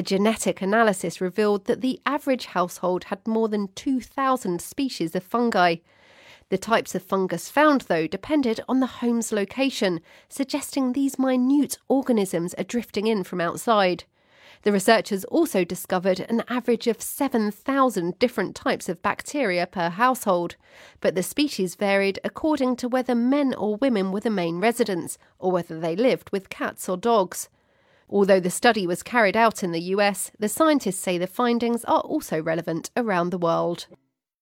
A genetic analysis revealed that the average household had more than 2,000 species of fungi. The types of fungus found, though, depended on the home's location, suggesting these minute organisms are drifting in from outside. The researchers also discovered an average of 7,000 different types of bacteria per household, but the species varied according to whether men or women were the main residents, or whether they lived with cats or dogs. Although the study was carried out in the US, the scientists say the findings are also relevant around the world.